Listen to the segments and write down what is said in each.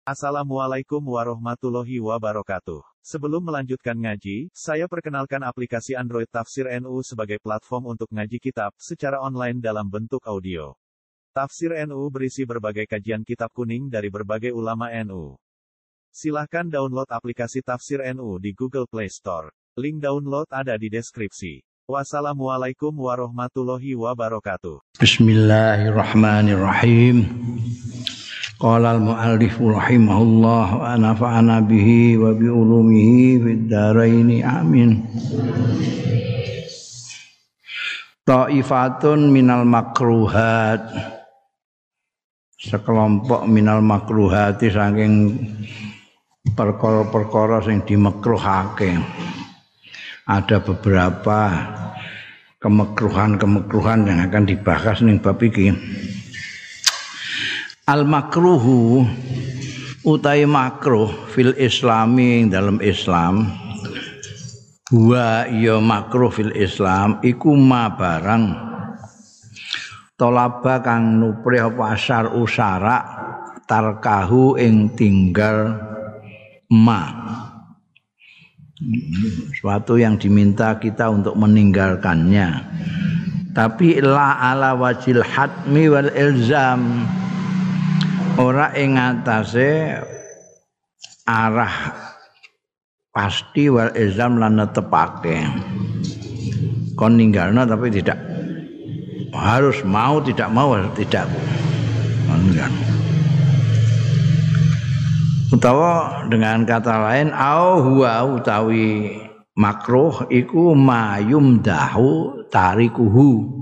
Assalamualaikum warahmatullahi wabarakatuh. Sebelum melanjutkan ngaji, saya perkenalkan aplikasi Android Tafsir NU sebagai platform untuk ngaji kitab secara online dalam bentuk audio. Tafsir NU berisi berbagai kajian kitab kuning dari berbagai ulama NU. Silahkan download aplikasi Tafsir NU di Google Play Store. Link download ada di deskripsi. Wassalamualaikum warahmatullahi wabarakatuh. Bismillahirrahmanirrahim. Qala al-mu'allif rahimahullah wa nafa'ana bihi wa bi ulumihi fid dharain amin. Ta'ifatun minal makruhat. Sekelompok minal makruhati saking perkara-perkara sing dimakruhake. Ada beberapa kemekruhan yang akan dibahas ning bab iki. Al makruhu utai makruh fil islami dalam Islam wa ya makruh fil Islam iku ma barang tolaba kang nuprih apa asar usara tarkahu ing tinggal ma suatu yang diminta kita untuk meninggalkannya tapi la ala wajil hatmi wal ilzam ora ing atase arah pasti wal ilzam lan netepake kon ninggalna tapi tidak harus mau tidak mau tidak enggak. Utawa dengan kata lain au huwa utawi makruh iku mayumdahu tarikuhu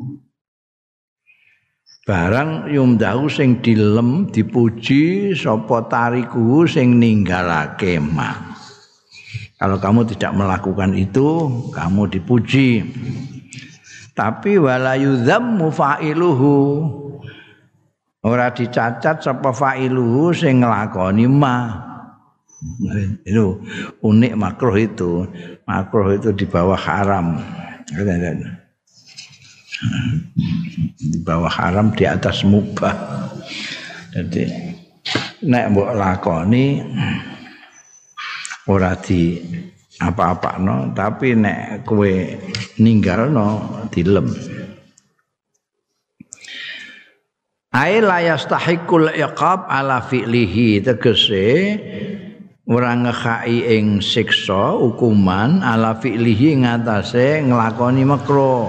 barang yumdahu sing dilem dipuji sapa tarikuhu sing ninggalake ma. Kalau kamu tidak melakukan itu kamu dipuji. Tapi wala yudzammu fa'iluhu ora dicacat sapa fa'iluhu sing nglakoni ma. Itu unik makruh itu. Makruh itu di bawah haram. Di bawah haram di atas mubah. Jadi nek mbok lakoni ora di apa-apano tapi nek kowe ninggalno dilem. Ai la yastahiqul iqab ala fi'lihi tegese ora ngekhai ing siksa hukuman ala fi'lihi ngatasé nglakoni makruh.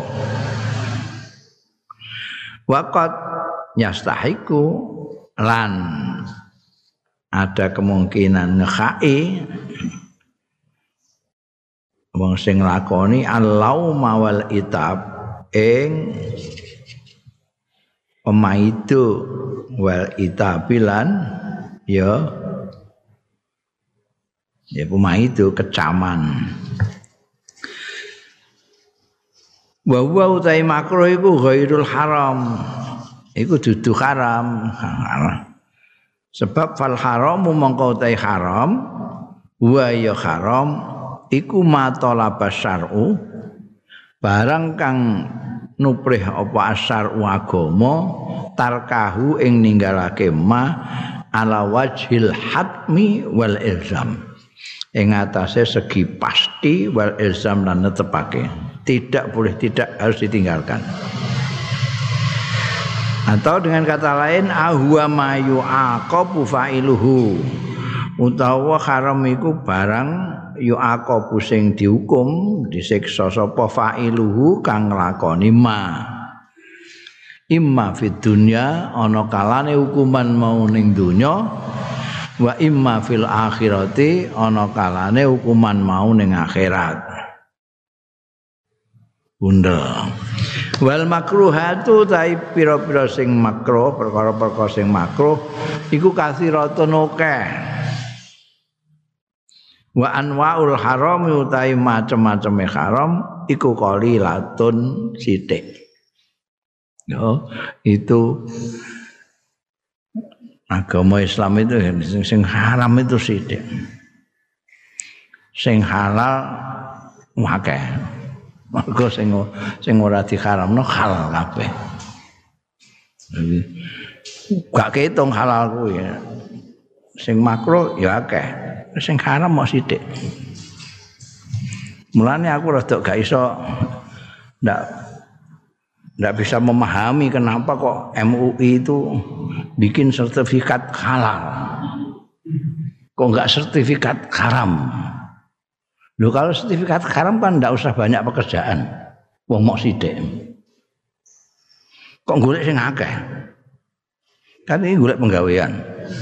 Waqat yastahiqu lan ada kemungkinan ngekhai wong sing nglakoni al-lauma wal itab ing pemaitu wal itabilan ya pemaitu kecaman. Wa huwa utai makruh iku ghairul haram. Iku dudu haram. Sebab fal haramu mongko utai haram wa ya haram iku ma talaba syar'u barang kang nuprih apa asyar'u agama tarkahu ing ninggalake ma ala wajhil hatmi wal ilzam ing atase segi pasti wal ilzam lan netepake. Tidak boleh tidak harus ditinggalkan. Atau dengan kata lain ahwa mayu aqabu fa'iluhu utawa haram iku barang yu aqabu sing dihukum disiksa sapa fa'iluhu kang nglakoni ma. Imma fid dunya ana kalane hukuman mau ning donya wa imma fil akhirati ana kalane hukuman mau ning akhirat. Bundel. Wal makruhatu tai pira-pira sing makruh, perkara-perkara sing makruh iku kathiratun akeh. Wa anwaul haram utai macam-macam haram iku qalilatun sithik. Yo, itu agama Islam itu sing haram itu sithik. Sing halal akeh. Mergo sing ora diharamno halal kabeh. Gak ketung halal kuwi. Sing makruh ya akeh. Sing haram mok sithik. Mulane aku rada gak iso ndak bisa memahami kenapa kok MUI itu bikin sertifikat halal. Kok enggak sertifikat haram? Loh kalau sertifikat haram kan ndak usah banyak pekerjaan. Wong mok sithik. Kok golek sing akeh? Kan ini golek penggawean.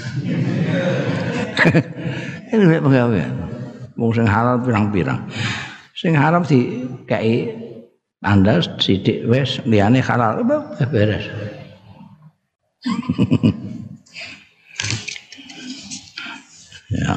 Ini golek penggawean. Wong sing halal pirang-pirang. Sing haram dikai Anda sithik wis liyane halal beres. Ya.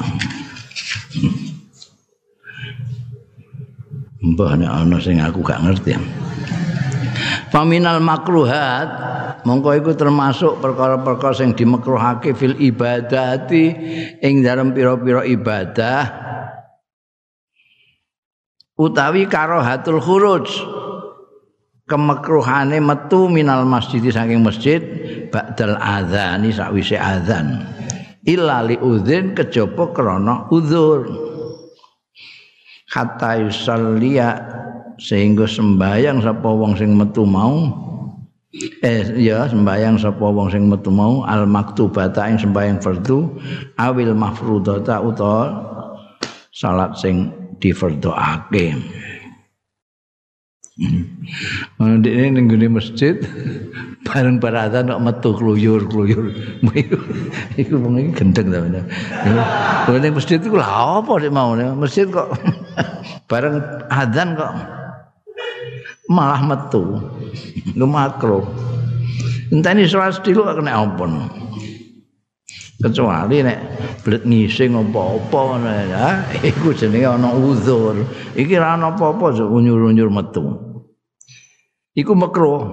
Mbah nek ana sing aku gak ngerti. Faminal makruhat mongko iku termasuk perkara-perkara sing dimakruhake fil ibadati ing dalem pira-pira ibadah utawi karahatul khuruj kemakruhane metu minal masjid saking masjid ba'dal adzani sakwise adzan illa li udzin kejaba krana udzur hatta yusalliya sehingga sembayang sapa wong sing metu mau sembayang sapa wong sing metu mau al maktubata ing sembayang fardu awil mafrudata utawa salat sing difardhoake. Ndekne ning gone masjid bareng baratan kok metu kluyur-kluyur. Iku wong iki gendeng ta bener. Ning masjid iku lha apa sik mau masjid kok bareng adzan kok malah metu. Lu makro. Enteni salat stilu kena ampun. Kecuali nek blet ngising apa-apa ngono ya, iku jenenge ana uzur. Iki ra ana apa-apa unyur-unyur metu. Iku makruh.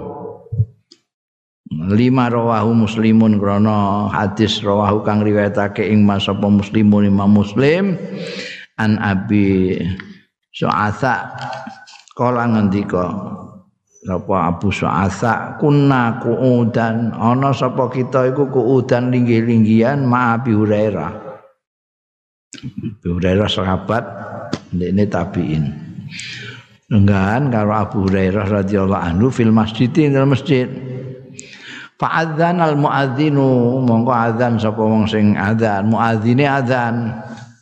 5 rawahu muslimun krana hadis rawahu kang riwayatake ing masapa muslimun Imam Muslim an Abi Su'atsa kala ngendika sapa Abu Su'atsa kunna qu'udan ana sapa kita iku qu'udan linggih-linggihan ma Abi Hurairah. Abi Hurairah sahabat ndekne tabi'in. Lenggahan karo Abu Hurairah radhiyallahu anhu fil masjid ing masjid. Fa'adzan al muadzinu mongko adzan sapa wong sing adzan muadzine adzan.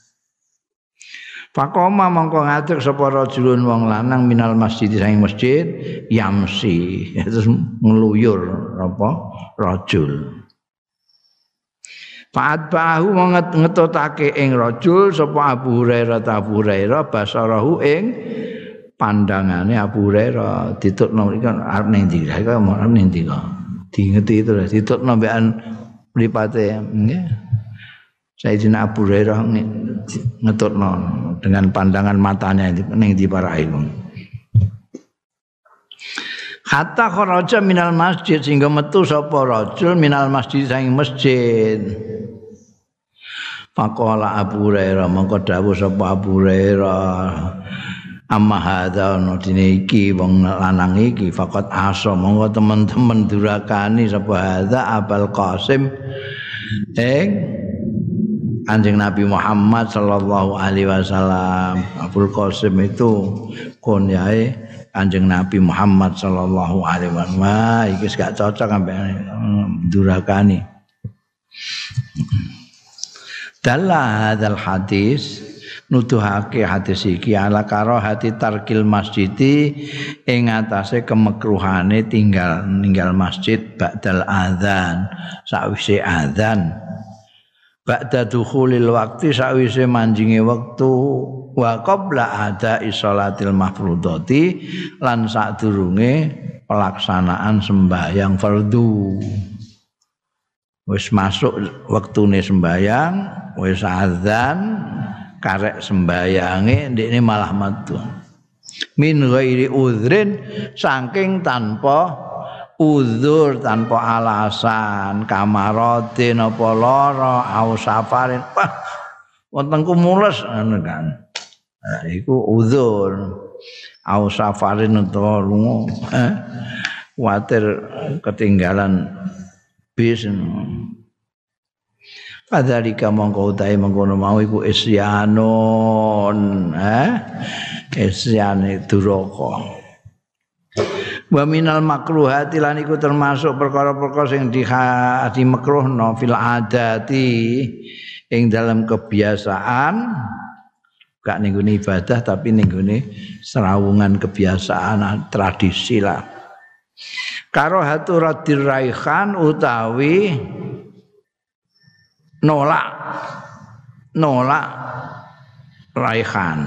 Faqoma mongko ngadeg sapa rajulun wong lanang minal masjid saking masjid yamsi terus ngluyur apa rajul. Fa'atbahu ngetotake ing rajul sapa Abu Hurairah basarahu ing pandangane Abu Hurairah ditutno iki arep ning ndi kok arep ning ndi kok diingeti itu ditutno mbekan mripate nggih Sayyidina Abu Hurairah ngetutno dengan pandangan matanya ning ndi parahe hatta kharaja minal masjid sehingga metu sapa rajul minal masjid saking masjid. Faqala Abu Hurairah mongko dawuh sapa Abu Hurairah amma hadza ono dene iki wong lanang iki faqat asa monggo teman-teman durakani sapa hadza Abul Qasim Kanjeng Nabi Muhammad sallallahu alaihi wasallam. Abul Qasim itu kunyae Kanjeng Nabi Muhammad sallallahu alaihi wasallam. Iki gak cocok ambek durakani. Dalla hadzal hadis nuduhake hadis iki ala karahati tarkil masjidi ing atase kemekruhane ninggal masjid ba'dal adzan sakwise adzan ba'da dukhulil waqti sakwise manjinge wektu wa qabla ada'i sholatil mafrudati lan sadurunge pelaksanaan sembahyang fardu. Wis masuk wektune sembahyang wis adzan karek sembayange ndekne malah metu min ghairi uzrin saking tanpa uzur tanpa alasan kamaratin apa lara au safarin wontenku mules ngono kan iku uzur au safarin utawa lunga kuwatir ketinggalan bis Kadzalika mongko utahe mengkono mau iku isyanon, isyane duraka. Wa minal makruhati lan iku termasuk perkara-perkara sing dimekruhno fil adati ing dalam kebiasaan, gak ning gone ibadah tapi ning gone serawungan kebiasaan tradisi lah. Karahatu radir raihan utawi nolak raihan.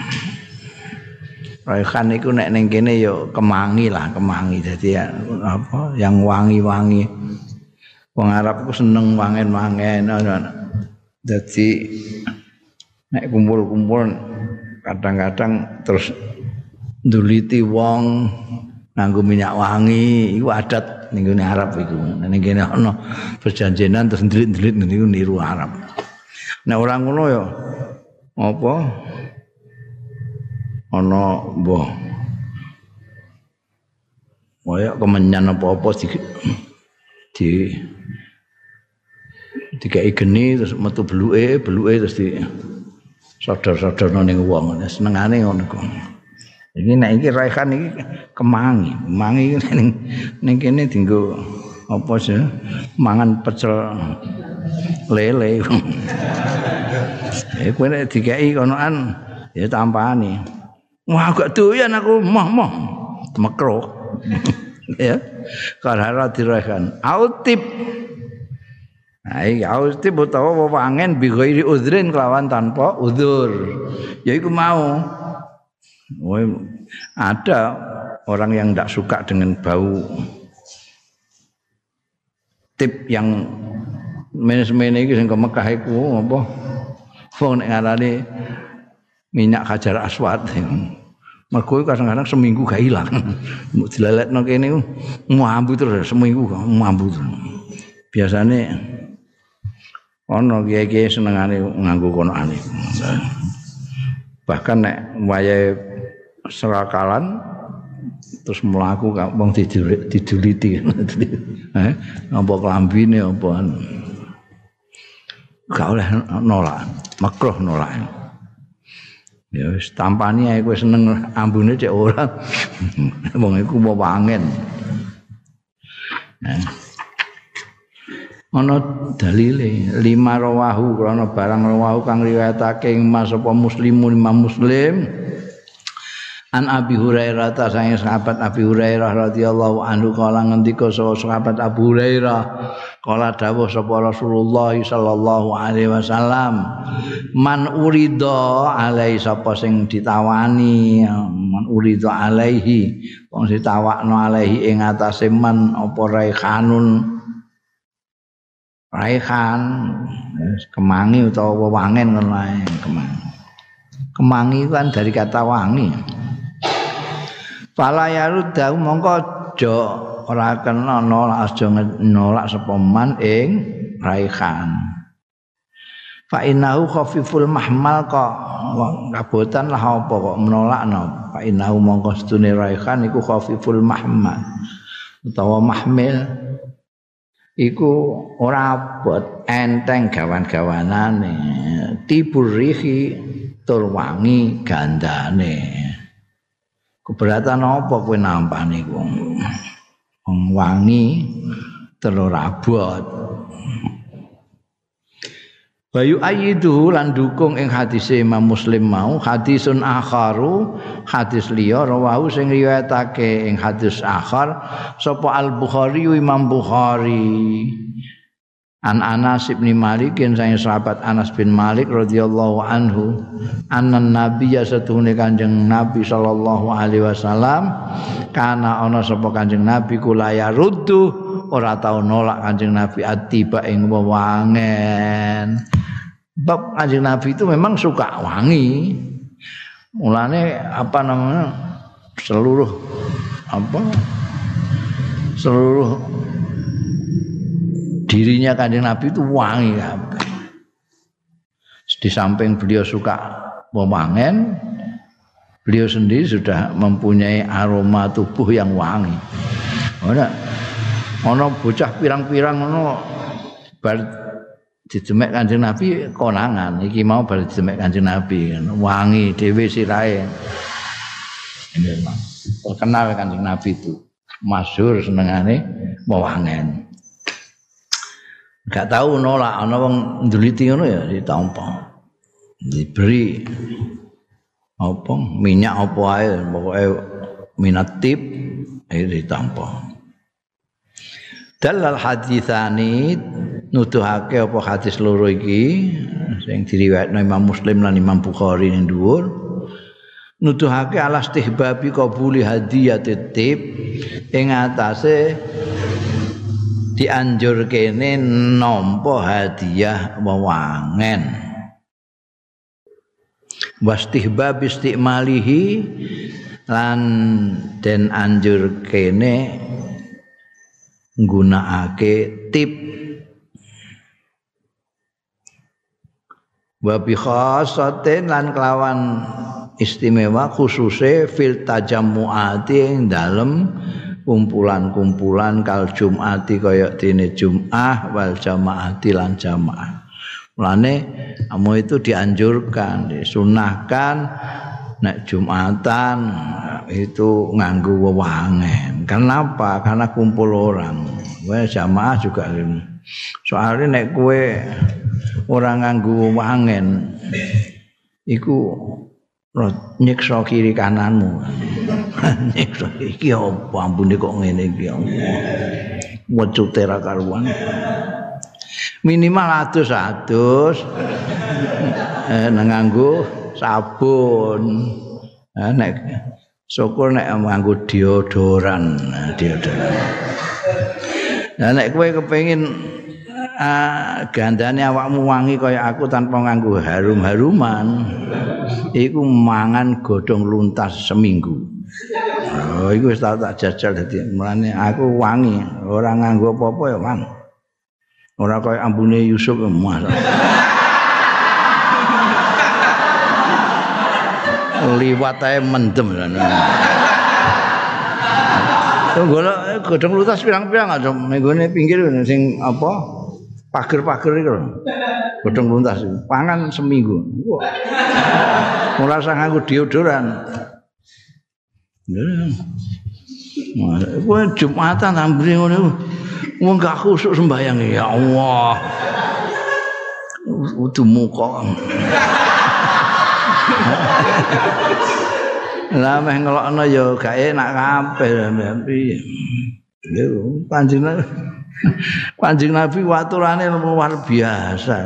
Raihan iku nek ning kene ya kemangi lah, kemangi. Dadi apa yang wangi-wangi. Wong Arab iku seneng wangen-wangen. Dadi nek kumpul-kumpul kadang-kadang terus nduliti wong nganggo minyak wangi, iku adat ning gone Arab iku. Ning kene ana perjanjenan terus ndelit-ndelit niku niru Arab. Nek ora ngono ya apa ana mbah kaya kemenyan apa-apa dikai geni terus metu beluke terus di sodor-sodorno ning wong senengane ngono kok. Iki nek iki raihan iki kemangi ning kene dienggo apa sih mangan pecel lele. Kowe nek dikai konoan ya tampani. Wah gak doyan aku moh makruh. Ya. Karena diraihan. Autib. Nah, iki autib utawa wewangen bi ghairi udhrin kelawan tanpa udzur. Ya iku mau. Ada orang yang tidak suka dengan bau tip yang menes-mene iki sing ke Mekah iku apa? Wong nek ngarani minyak hajar aswad. Mergo kadang-kadang seminggu gak ilang. Mbok dileletno kene mambu terus seminggu mambu terus. Biasane ana kiai-kiai senengane nganggo konoane. Bahkan nek wayahe serakalan terus mlaku wong diduliti. Apa klambine apa gak oleh nolak, makruh nolak. Ya wis tampani ae kowe seneng ambune cek ora. Wong iku mau wangen. Ana dalile 5 rawahu krana barang rawahu kang riwayatake Mas apa Muslimun Imam Muslim. An Abi Hurairah ta sange sahabat Abi Hurairah radhiyallahu anhu kala ngendika sahabat Abu Hurairah kala dawuh sapa Rasulullah sallallahu alaihi wasallam man urida alai sapa sing ditawani man urida alaihi wong ditawakno alaihi ing atase man apa raihan kemangi utawa wewangen ngono ae kemangi kan dari kata wangi. Fala yarudau mongko aja ora kena nolak aja nolak sapa man ing raihan. Fa innahu khafiful mahmal kok kabotan lah apa kok menolakno. Fa innahu mongko sedune raihan iku khafiful mahmal utawa mahmil iku ora abot enteng gawan-gawanane tiburihi tur wangi gandane. Keberatan apa kowe nampane iku? Wong wangi telur abot. Bayu ayidu lan dukung ing hadis Imam Muslim mau hadisun akharu hadis liya rawahu sing riwayatake ing hadis akhar sapa Al-Bukhari Imam Bukhari. An Anas bin Malik yang saya sahabat Anas bin Malik radhiyallahu anhu annan nabiyya satune Kanjeng Nabi sallallahu alaihi wasallam kana ana sapa Kanjeng Nabi kula ya ruddu ora tau nolak Kanjeng Nabi atiba ing wewangen. Bab Kanjeng Nabi itu memang suka wangi. Mulane apa namanya seluruh dirinya Kanjeng Nabi itu wangi kabeh. Di samping beliau suka wewangen, beliau sendiri sudah mempunyai aroma tubuh yang wangi. Ana bocah pirang-pirang ngono bar didemek Kanjeng Nabi konangan iki mau bar didemek Kanjeng Nabi wangi dhewe sirahe. Terkenal Kanjeng Nabi itu masyhur senengane wewangen. Gak tahu nolak ana wong nduliti ngono ya ditampa. Diberi apa minyak apa ae pokoke minat tip ditampa. Dalal haditsani nuduhake apa hadis loro iki sing diriwayatno Imam Muslim lan Imam Bukhari ning dhuwur nuduhake ala istihbabi qabuli hadiyatit tip ing atase dianjurkene nampa hadiah wewangen wastihbab istimalihi lan den anjurkene nggunakake tip wa bi khassatin lan kelawan istimewa khususe fil tajammuati ing dalem kumpulan-kumpulan kal jumati kaya dene Jumat wal jamaati lan jamaah. Mulane amu itu dianjurkan, disunahkan nek Jumatan itu nganggo wewangen. Kenapa? Karena kumpul orang. Wes jamaah juga soalnya nek kowe ora nganggo wewangen iku nyiksa kiri kananmu. Nyiksa iki apa ampune kok ngene iki. Wecute ra karuan. Minimal atus nganggo sabun. Nek syukur nek nganggo deodoran. Nah nek kowe kepengin gandane awakmu wangi kaya aku tanpa nganggo harum-haruman iku mangan godhong luntas seminggu. Oh iku wis tak jajal dadi mulane aku wangi ora nganggo apa-apa ya Mang. Ora kaya ambune Yusuf emas. Liwat ae mendem. Golek godhong luntas pirang-pirang aja menggone pinggir sing apa pager-pager iku. Godhong luntas pangan seminggu. Ora usah nganggo deodoran. Kowe Jumatan ambune ngono. Wong gak khusuk sembayang ya Allah. Utuh muka. Lah meh ngelokno ya gak enak kabeh piye. Lho Kanjeng Nabi waturane luar biasa.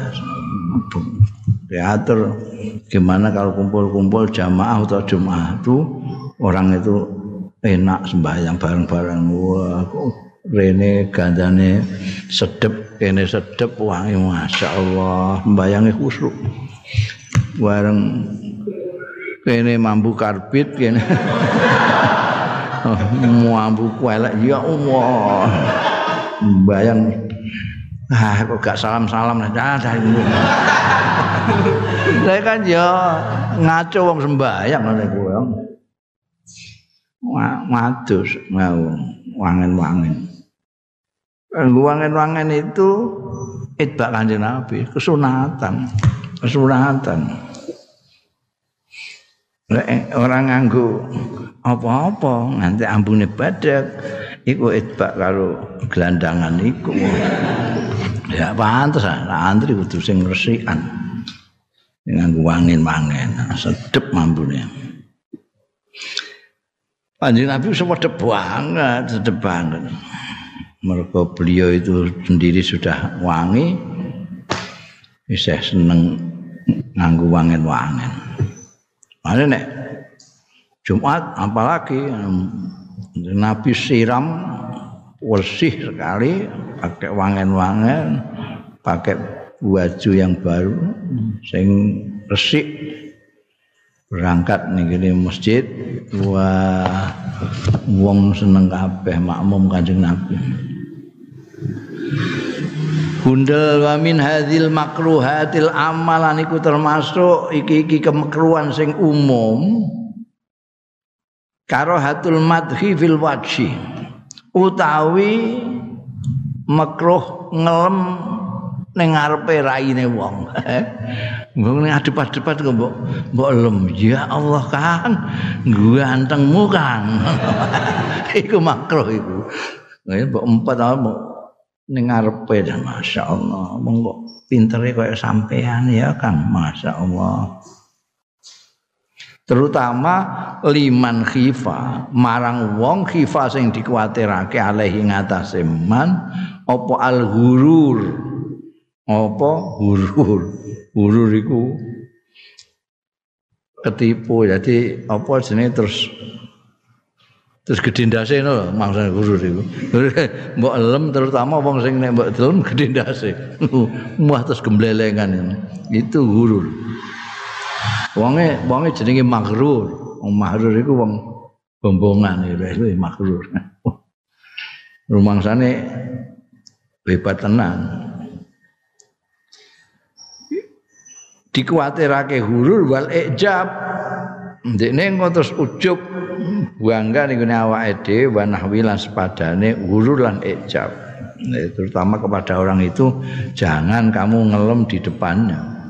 Diatur gimana kalau kumpul-kumpul jamaah atau Jumat itu orang itu enak sembahyang bareng-bareng. Wah, rene gandane sedep, kene sedep wangi masyaallah, sembayange khusyuk. Bareng kene mambu karbit kene. Mambu kuelek ya Allah. Bayang kok gak salam-salam dah. Saya kan ya ngaco wong sembahyang ngene kuwi. Matus mau wangen-wangen. Wangen-wangen itu itbak Kanjeng Nabi, kesunatan. Orang nganggo apa-apa nanti ambune badak iku itbak karo gelandangan iku. Ya pantes antri kudu sing resikan. Nganggo wangen-wangen, sedep mambune. Kanjeng Nabi sedep banget. Mergo beliau itu sendiri sudah wangi, isih seneng nganggo wangen-wangen. Mane nek Jumat apalagi Nabi siram bersih sekali pakai wangen-wangen, pakai baju yang baru sing resik berangkat ning masjid. Wah wong seneng kabeh makmum Kanjeng Nabi. Bundel wa min hadzal makruhatil amalan iku termasuk iki kemekruhan sing umum. Karahatul madhi fil wajhi utawi makruh ngelem ning ngarepe raine wong. Mbok ning adep-adepan kok mbok lem. Ya Allah Kang, gantengmu Kang. Iku makruh iku. Mbok empet mbok ning ngarepe dan masyaallah. Wong kok pintere kaya sampean ya Kang, masyaallah. Terutama liman khifa marang wong khifa sing dikuwatirake alaihi ngatasé man apa al-ghurur apa gurur iku ketipu jadi apa jenenge terus gedhe lho maksud gurur iku mbok elem terutama wong sing nek mbok delem gedhe ndase muah terus gemblelengan itu gurur. Wonge jenenge maghrur. Wong maghrur iku wong bombongan iki maghrur. Rumangsane hebat tenan. Dikuwatirake hurur wal ijab. Ndekne engko terus ujub bangga ning awake dhewe wa nahwi lan sepadane hurur lan ijab. Terutama kepada orang itu jangan kamu ngelem di depannya.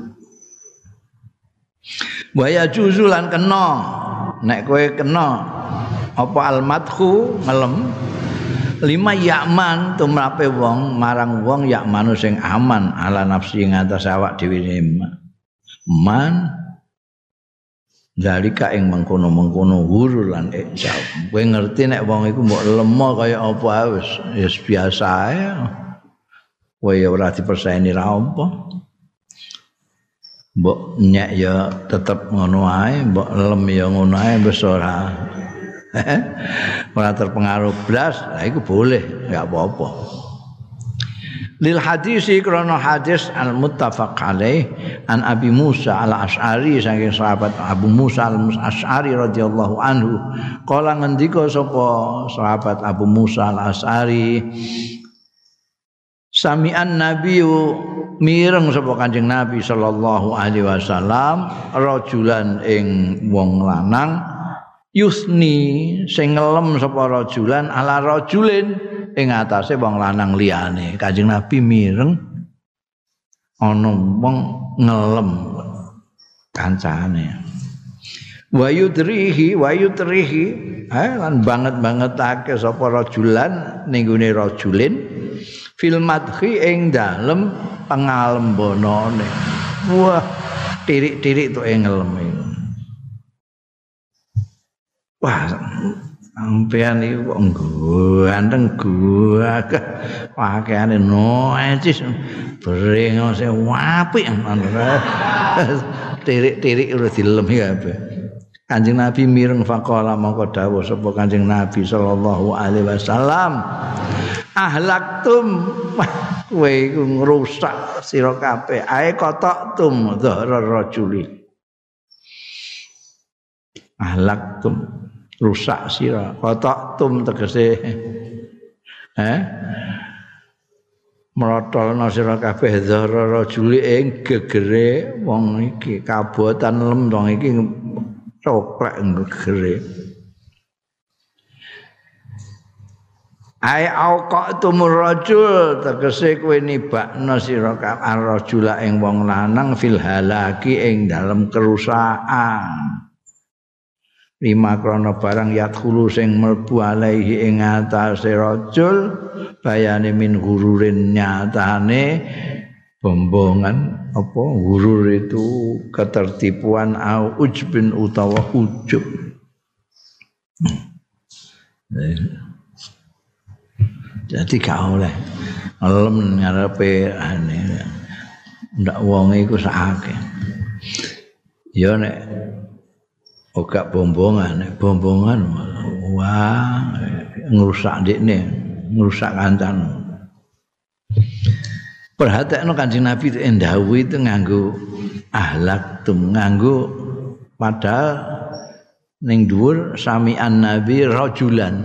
Waya juzulan kena nek kowe kena apa almadhu ngelem lima yakman tumrape wong marang wong yakmanu sing aman ala nafsi ngatas awak dhewe man zalika ing mengkono-mengkono hurur lan ijab. Kowe ngerti nek wong iku mbok lemo kaya apa wis biasa ae. Kowe ora diperseni ra apa. Mbok nyek ya tetep ngono ae, mbok lem ya ngono ae wis ora. Ora terpengaruh blas, lah iku boleh, enggak apa-apa. Lil hadisi krana hadis al muttafaq alaih an Abi Musa al-Asy'ari saking sahabat Abu Musa al-Asy'ari radhiyallahu anhu kala ngendika sapa sahabat Abu Musa al-Asy'ari sami'an nabiyyu mireng sapa Kanjeng Nabi sallallahu alaihi wasallam rajulan ing wong lanang yusni sing ngelem sapa rajulan ala rajulin ing atase wong lanang liyane. Kanjeng Nabi mireng ana wong ngelem kancane. Wa yudrihi lan banget-bangetake sapa rajulan ning gone rajulin fil madhi ing dalem pangalembonane. Wah, tirik-tirik tok ngelem. Wah, sampean iki kok ganteng gagah. Pakaiane noecis brengose apik. Tirik-tirik udah dilem kabeh. Kanjeng Nabi mireng faqala mongko dawuh sapa Kanjeng Nabi sallallahu alaihi wasallam ahlaktum kowe iku ngrusak sira kabeh ae kotaktum dhahra rajuli ahlaktum rusak sira kotaktum tegese merotolna sira kabeh dhahra rajuli ing gegere wong iki kabotan lem wong iki coplek gegere ai auqatumur rajul tegese kowe nibakna sira ar-rajula ing wong lanang fil halaki ing dalem kerusakan lima krana barang yadkhulu sing mlebu alaihi ing atase rajul bayane min gururin nyatane bombongan apa gurur itu ketertipuan au ujbin utawa ujub. Jadi gak oleh ngelem ngarepe ane ndak wong iku sakake. Ya nek ora bombongan, nek bombongan wah ngrusak ndekne, ngrusak kancane. Perhatekno Kanjeng Nabi ndawuh itu nganggo ahlak tum nganggo padahal ning dhuwur sami'an Nabi rajulan.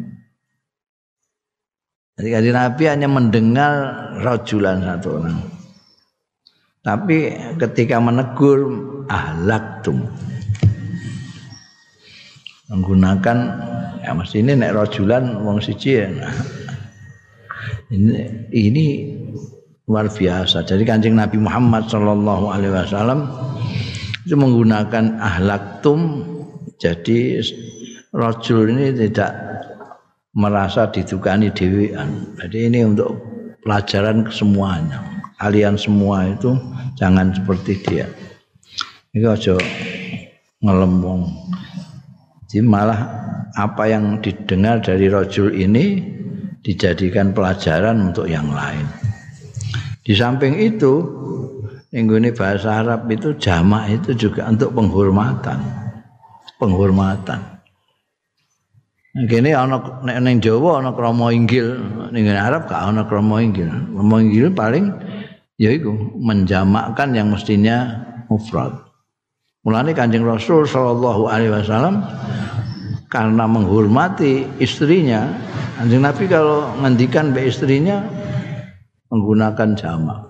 Jadi Kanjeng Nabi hanya mendengar rajulan satu orang. Tapi ketika menegur ahlaktum menggunakan ya mesti ini nek rajulan wong siji ya. Ini luar biasa. Jadi Kanjeng Nabi Muhammad sallallahu alaihi wasallam itu menggunakan ahlaktum. Jadi rajul ini tidak merasa didukani dhewean. Jadi ini untuk pelajaran ke semuanya. Kalian semua itu jangan seperti dia. Ini aja ngelembong. Jadi malah apa yang didengar dari rajul ini dijadikan pelajaran untuk yang lain. Di samping itu, ini bahasa Arab itu jamak itu juga untuk penghormatan. Penghormatan. Kene ana ning Jawa ana krama inggil, ning Arab gak ana krama inggil. Krama inggil paling yaiku menjamakkan yang mestinya mufrad. Mulane Kanjeng Rasul sallallahu alaihi wasallam karena menghormati istrinya, Kanjeng Nabi kalau ngendikan be istrinya menggunakan jamak.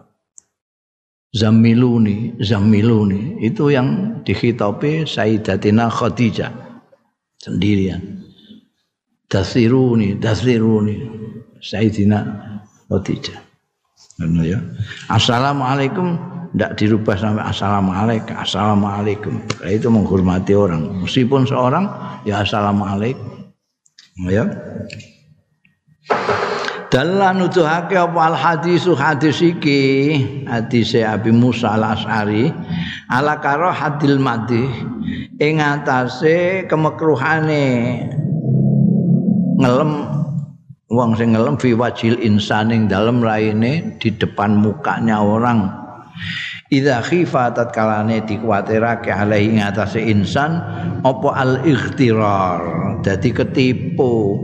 Zamiluni itu yang dikhitabi Sayyidatina Khadijah sendirian. Dasiruni Sayyidina Khadijah. Ya. Assalamualaikum tidak dirubah sampai assalamualaikum. Itu menghormati orang. Meskipun seorang ya assalamualaikum. Ya. Dalam nuduhake apa hadis iki hadise Abi Musa Al-Asy'ari ala karahatil madih ing atase kemekruhane ngelem wong sing ngelem fi wajil insan ing dalem raine di depan mukanya orang. Idza khifa tatkalane dikuwatirake alaihi ing atase insan apa al-ightirar dadi ketipu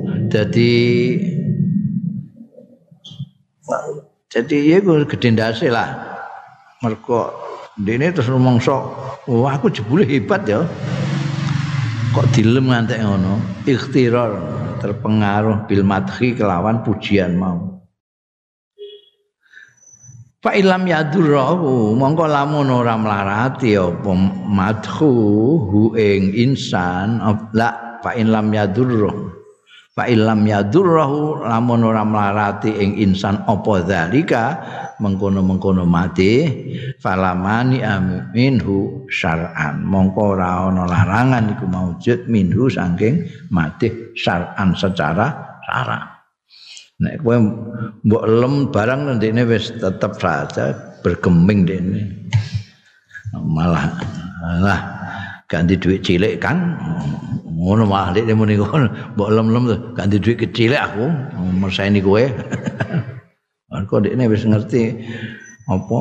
jadi ya gede ndase lah mergo dene terus rumangsa wah aku jebule hebat ya kok dilem ngantek ngono ikhtirar terpengaruh bil madhi kelawan pujian mau fa ilam yadurru mongko lamun ora mlarati apa madhu hu ing insan la fa ilam yadurru fa ilam yadurru lamun ora mlarati ing insan apa zalika mengkono-mengkono mati falamani minhu syar'an mongko ora ana larangan iku maujud minhu saking mati syar'an secara syara. Nek kowe mbok lem barang ndekne wis tetep saja bergeming dene. Malah ganti duit cilik kan ngono malah nek muni ngono mbok lem-lem ganti duit kecil aku merseni kowe. Kok dekne wis ngerti apa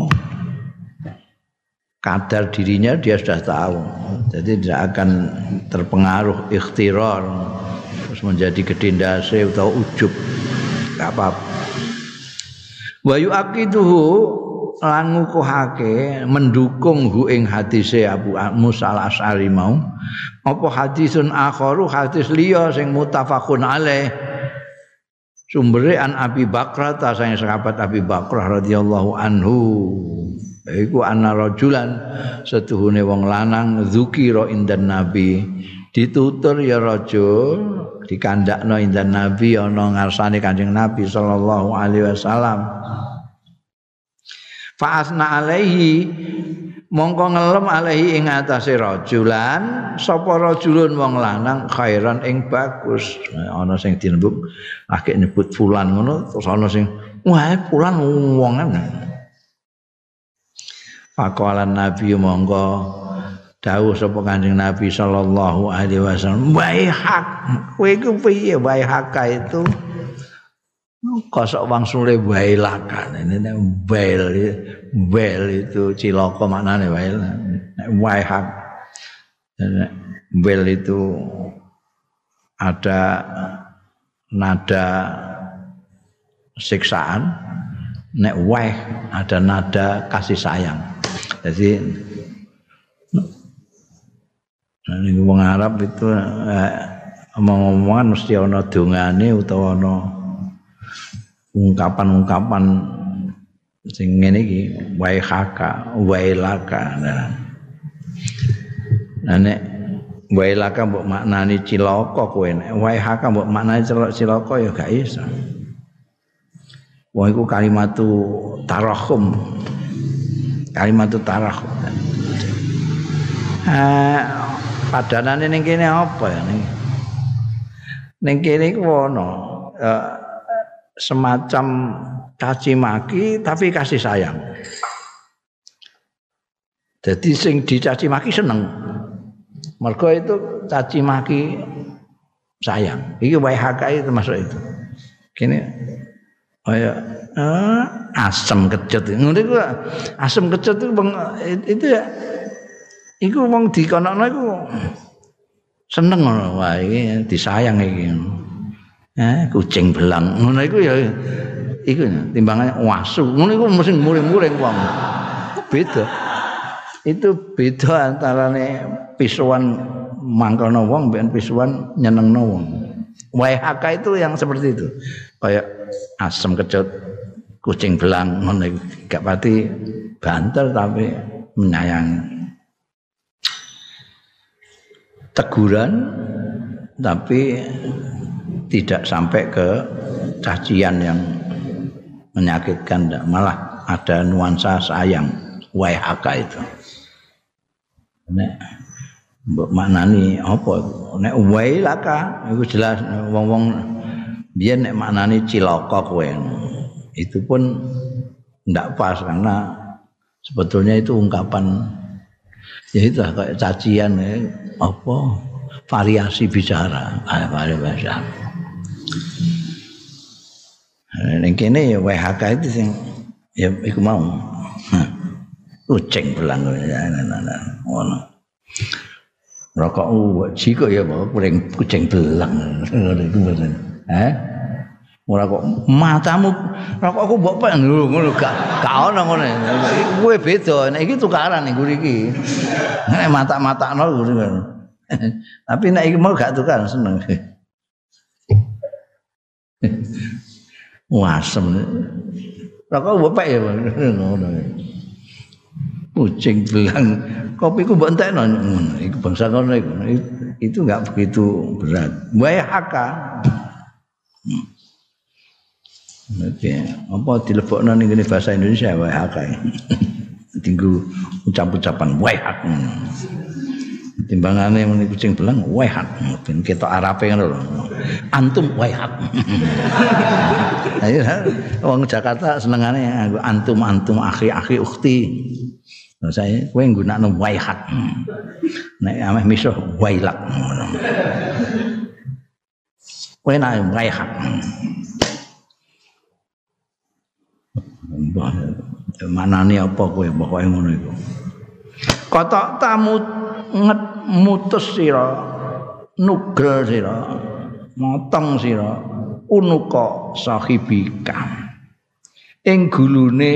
kadar dirinya dia sudah tahu. Jadi tidak akan terpengaruh ikhtirar terus menjadi gedendase atau ujub. Enggak apa-apa. Wa yu'aqiduhu lan ngukuhake mendukung hu ing hadise Abu Musa Al-Asy'ari mau apa hadisun akharu hadis liya sing muttafaqun alaih sumbere an Abi Bakrah ta sang sahabat Abi Bakrah radhiyallahu anhu iku ana rajulan setuhune wong lanang dzukira indan nabi ditutur ya rajul dikandakno indan nabi ana ngarsane Kanjeng Nabi sallallahu alaihi wasallam fa'asna alaihi mongko ngelem alaihi ing atase rajulan sapa rajulun wong lanang khairan ing bagus ana sing dinembuk akeh nyebut fulan ngono terus ana sing wah fulan wongan faqalan nabi mongko dawuh sapa Kanjeng Nabi sallallahu alaihi wasallam waihak kowe iku piye waihak itu kosok wangsule wailakan ini wail itu cilaka maknane wail waihak wail itu ada nada siksaan nek waih ada nada kasih sayang jadi ning wong Arab itu omong-omongan mesti ana dongane utawa ana ungkapan-ungkapan sing ngene iki waihaka wailaka nah nek wailaka mbok maknani cilaka kowe nek waihaka mbok maknani cilaka ya gak iso Wong iku kalimatu tarahum. Kalimatu tarahum. Padanane ning kene apa ya ning? Ning kene iku ana semacam caci maki tapi kasih sayang. Jadi sing dicaci maki seneng. Mergo itu caci maki sayang. Iki WHK termasuk itu. Kene kaya asam kecut. Ngono iku asam kecut itu ya iku wong dikonokno iku seneng ngono. Wah iki disayang iki. Kucing belang. Ngono iku ya iku timbangane wasu. Ngono iku mesti muring-muring wong. Beda. Itu beda antarane pisuan mangkono wong mbek pisuan nyenengno wong. WHK itu yang seperti itu. Kayak asam kecut, kucing belang ngono iku gak pati banter tapi menyayangi. Teguran tapi tidak sampai ke cacian yang menyakitkan, malah ada nuansa sayang. WHK itu. Nek mbok maknani apa? Nek wailaka iku jelas wong-wong biyen nek maknani cilaka kowe. Itu pun ndak pas karena sebetulnya itu ungkapan ya itu kayak cacian apa variasi bicara, variasi. Ning kene ya WHK itu sing ya iku mau. Kucing belang ngono. Rokok jiko ya kuring kucing belang ngono iku bener. Ora kok matamu rokokku mbok pek ngono gak ono ngono. Kuwe beda, nek iki tukaran ning iki. Nek mata-matakno ngono. Tapi nek iki mau gak tukaran seneng. Wasem. Rokok mbok pek ya ngono. Kucing belang kopiku mbok entekno ngono iku bangsa ngono iku itu enggak begitu berat WHK oke apa dilebokno ning bahasa Indonesia WHK tinggu ucap-ucapan WHK timbangane muni kucing belang WHK ben ketok arape ngono lho antum WHK ayo wong Jakarta senengane antum akhi ukhti. Saya kowe nggunakno waihat. Nek ameh misuh wailak ngono. Kowe nek waihat. Manane apa kowe pokoke ngono iku. Kotok tamu mutus sira, nugel sira, motong sira, unuka sahibika. Ing gulune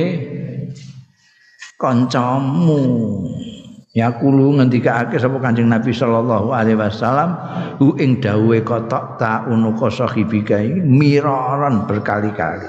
kancamu ya kulo ngendikake sapa Kanjeng Nabi sallallahu alaihi wasallam hu ing dawuhe kotok ta unuka sahibika iki miraran berkali-kali.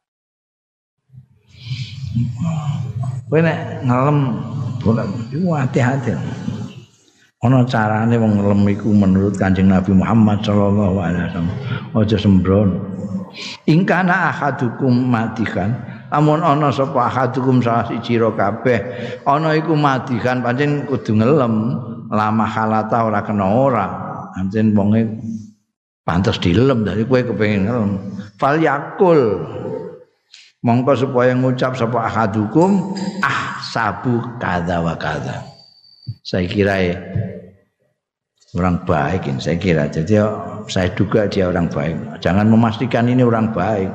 Kowe nek ngelem iku hati-hati. Ana carane wong ngelem iku menurut Kanjeng Nabi Muhammad sallallahu alaihi wasallam aja sembrono. Ingkana ahadukum matikan amun ana sapa ahadukum salah siji ro kabeh ana iku madikan pancen kudu ngelem lama halata ora kena ora pancen wonge pantes dilem dari kowe kepengin ngelem fal yakul mongko supaya ngucap sapa ahadukum sabu kadza wa kadza saya kira orang baik ini saya kira jadi saya duga dia orang baik jangan memastikan ini orang baik.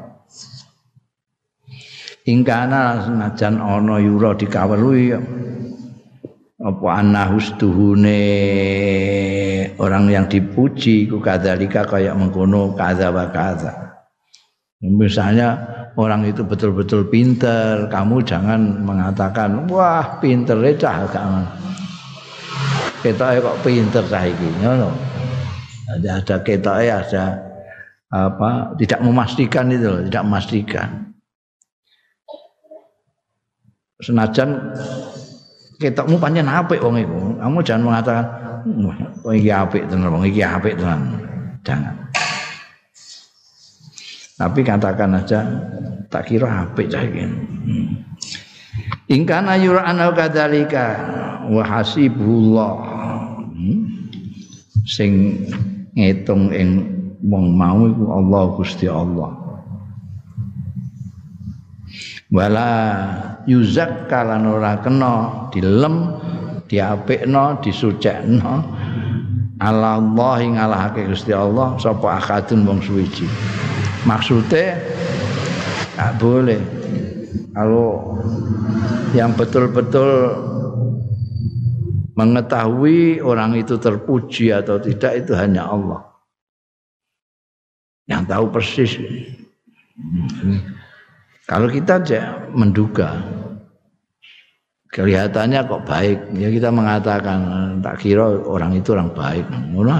Ingkana senajan ana yura dikawelui apa anahustuhune orang yang dipuji ku kadzalika kayak mengkono kadza wa kadza. Misalnya orang itu betul-betul pinter, kamu jangan mengatakan wah pintere cah gak. Ketoke kok pinter cah iki, ngono. Ada ketoke ada apa tidak memastikan itu loh, tidak memastikan. Senajan ketokmu pancen apik wong iku. Kamu jangan mengatakan wong iki apik tenan, wong iki apik tenan. Jangan. Tapi katakan aja tak kira apik cah iki. Ingkana yura'ana kadzalika wa hasibullah. Sing ngitung ing wong mau iku Allah Gusti Allah. Wala yuzakka lan ora kena dilem diapikno disucekno ala Allah ngalahake Gusti Allah sapa akadun wong suwiji. Maksude tak boleh kalau yang betul-betul mengetahui orang itu terpuji atau tidak itu hanya Allah yang tahu persis. Kalau kita aja menduga kelihatannya kok baik, ya kita mengatakan tak kira orang itu orang baik.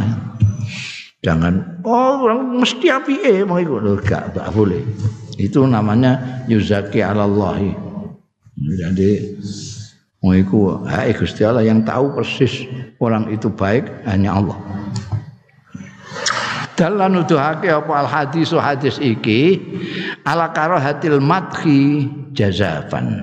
Jangan orang mesti apike mau ikut enggak boleh. Itu namanya yuzaki 'alallahi. Jadi mau iku Gusti Allah yang tahu persis orang itu baik hanya Allah. Dalan nuduhake apa al hadis iki ala karahatil madhi jazafan.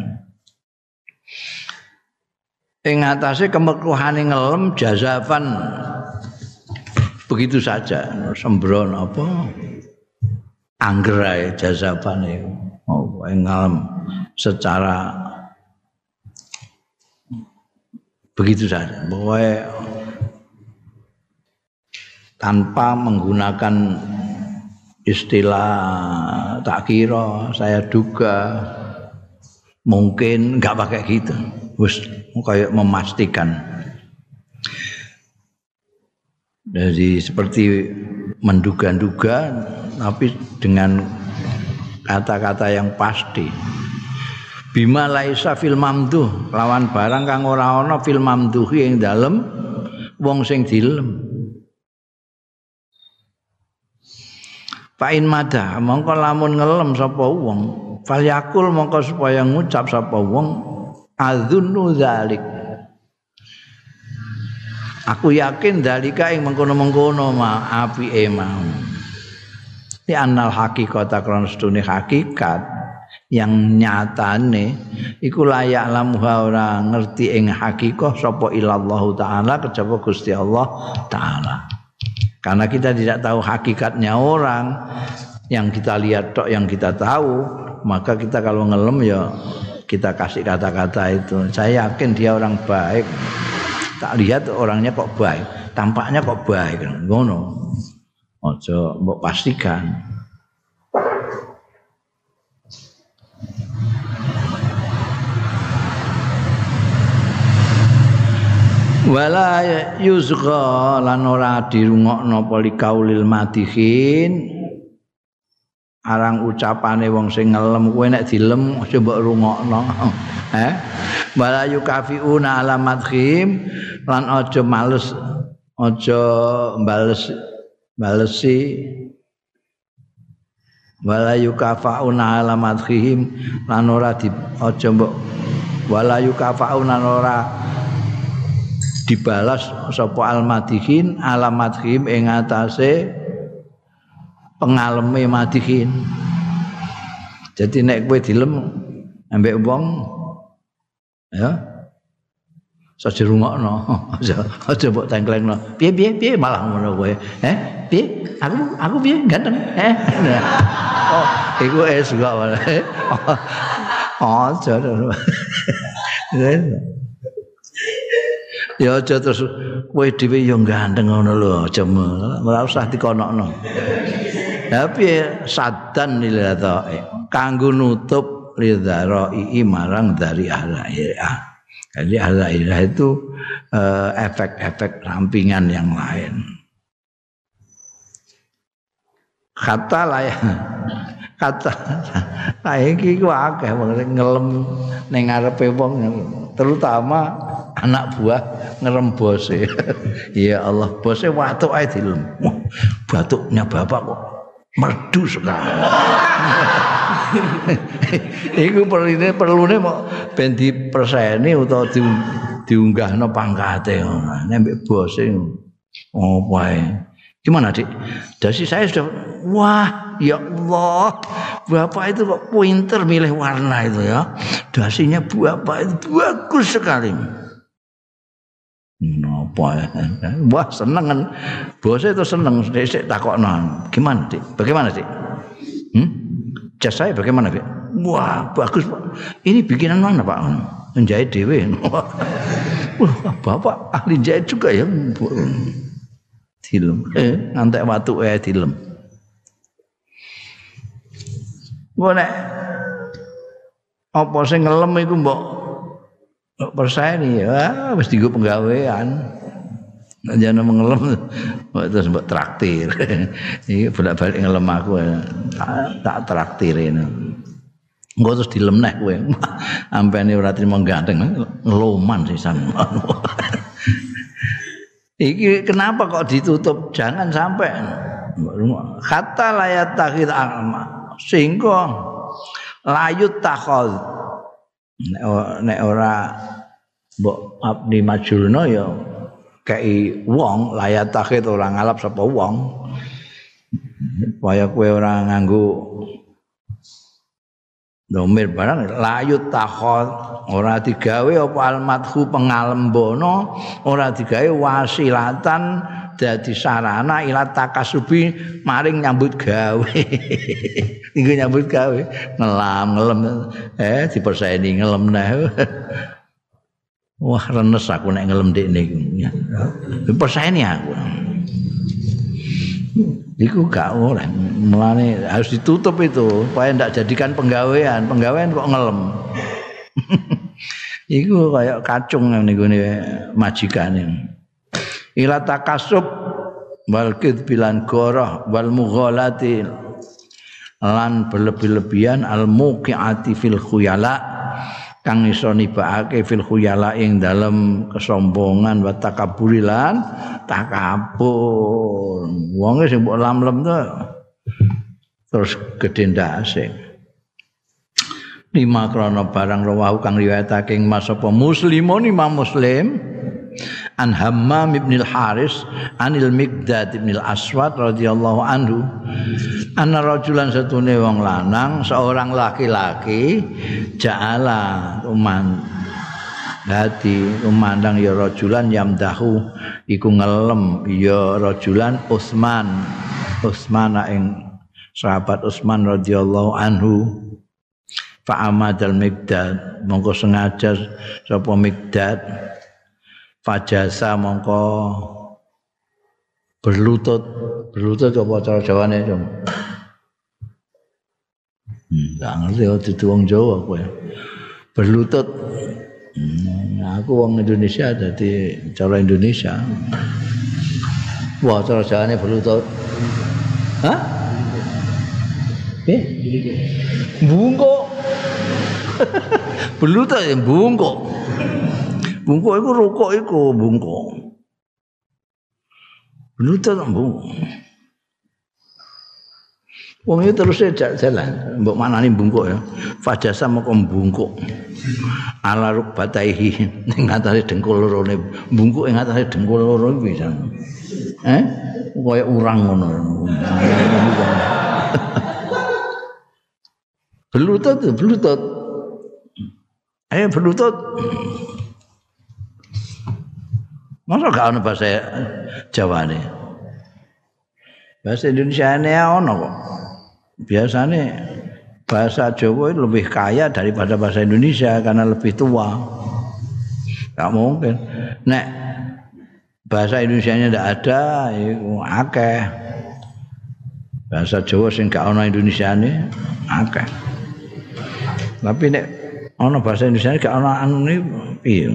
Ing atase kemekruhane ngelem jazafan begitu saja sembron apa anggerai jazafan itu ngelem secara begitu saja pokoknya tanpa menggunakan istilah tak kira, saya duga, mungkin enggak pakai gitu. Wis kayak memastikan. Jadi seperti menduga-duga tapi dengan kata-kata yang pasti. Bima laisa fil mamduh, lawan barang kang ora ana fil mamduhi ing dalem wong sing dilem. Pain madah mongko lamun ngelem sapa wong falyakul mongko supaya ngucap sapa wong adzunnu zalik aku yakin dalika ing mengkono-mengkono apike mau di annal hakikata krana sedune hakikat yang nyatane iku layak lamuha ora ngerti ing hakikah sapa ilallah taala kejaba Gusti Allah taala. Karena kita tidak tahu hakikatnya orang, yang kita lihat tok yang kita tahu, maka kita kalau ngelem ya kita kasih kata-kata itu. Saya yakin dia orang baik. Tak lihat orangnya kok baik, tampaknya kok baik. Ngono. Ojo mbok pastikan. Wala yuzgha lan ora dirungokno poli kaulil madihin arang ucapane wong sing ngelem kowe nek dilem aja mbok rungokno wala yukafiuna ala madhim lan aja males aja balesi wala yukafauna ala madhim lan ora aja mbok wala yukafauna ora dibalas sapa almadihin alamadhim ing atase pengaleme madihin. Jadi nek kowe dilem ambek wong ya saja rungokno aja mbok tengklengno piye malah ngono kowe piye aku piye ganteng oh iku juga malah aja ya aja terus kowe dhewe ya ganteng ngono lho aja ora usah dikonokno. Tapi sadan lilata kanggo nutup lidharai marang dari ahla-ahla. Jadi ahla-ahla itu efek-efek sampingan yang lain. Kata iki ku akeh ngelem ning ngarepe wong terutama anak buah ngerembose. Ya Allah, bose watuk ae dilem. Batuknya bapak kok merdu sekali. Iku perlune mau ben diperseni utawa diunggahno pangkate ngono. Nek mbek bose opo ae Gimana, Dik? Dasi saya sudah, wah, ya Allah, Bapak itu kok pinter milih warna itu ya. Dasinya Bapak itu bagus sekali. Napa ya? Wah, seneng kan. Bosnya itu seneng, sik takokno. Gimana, Dik? Bagaimana, Dik? Jas saya bagaimana, Dik? Wah, bagus, Pak. Ini bikinan mana, Pak? Menjahit dhewe. Wah, Bapak ahli jahit juga ya. Dilem, ngantek watu dilem. Gua nek apa sing ngelem iku mbok perseni ya wis dienggo penggawean. Jangan mengelem terus mbok traktir. Iki bolak-balik ngelem aku tak traktirin. Engko terus dilem neh kowe. Ampene ora trimo ganteng ngeloman sisan. Iki kenapa kok ditutup? Jangan sampai kata layat takhid alma sehingga layut takhod nek ora mbok abdi majurna ya kei wong layat takhid ora ngalap sapa wong supaya kowe ora nganggo domir barang layut takhod ora digawe apa almadhu pengalembono ora digawe wasilatan dadi sarana ila takasubi maring nyambut gawe iku nyambut gawe ngelem diperseni ngelem neh wah renes aku nek ngelem dekne iku diperseni aku iku gak oleh mulane harus ditutup itu supaya ndak jadikan penggawean kok ngelem iku kayak kacung niku majikane ila takasub wal kidbilan goroh wal mughalati lan berlebih-lebihan al muqiati fil khuyala kang iso nibake fil khuyala ing dalem kesombongan wa takaburilan takabur wonge sing mbok lam-lem to terus gedhe ndase lima krana barang rawahu kang riwayatake Mas apa Muslimun Imam Muslim an Hammam ibn al-Haris anil Miqdad ibn al-Aswad radhiyallahu anhu anna rajulan satune wong lanang seorang laki-laki ja'ala umandang ya rajulan yamdahu iku ngelem ya rajulan Utsman ing sahabat Utsman radhiyallahu anhu fa amadal Miqdad mongko sengaja sapa Miqdad fajasa mongko berlutut apa cara Jawane Cung ndak ngerti itu wong Jawa kowe berlutut aku wong Indonesia dadi cara Indonesia wah cara Jawane berlutut hah bungkuk berlutut ya bungkuk iku rukuk iku bungkuk berlutut bungkuk wong iki terus jalan mbok manani bungkuk ya fajasa moko bungkuk ala rukbataihi ning atase dengkul lorone bungkuk ing atase dengkul loro iki pisan kaya urang ngono berlutut berlutut masa gak ada bahasa Jawa nih bahasa Indonesia ini ada kok biasanya bahasa Jawa lebih kaya daripada bahasa Indonesia karena lebih tua gak mungkin nek bahasa Indonesianya tidak ada itu akeh bahasa Jawa sing gak ana Indonesiane akeh tapi nek ana bahasa Indonesia gak ana anune piye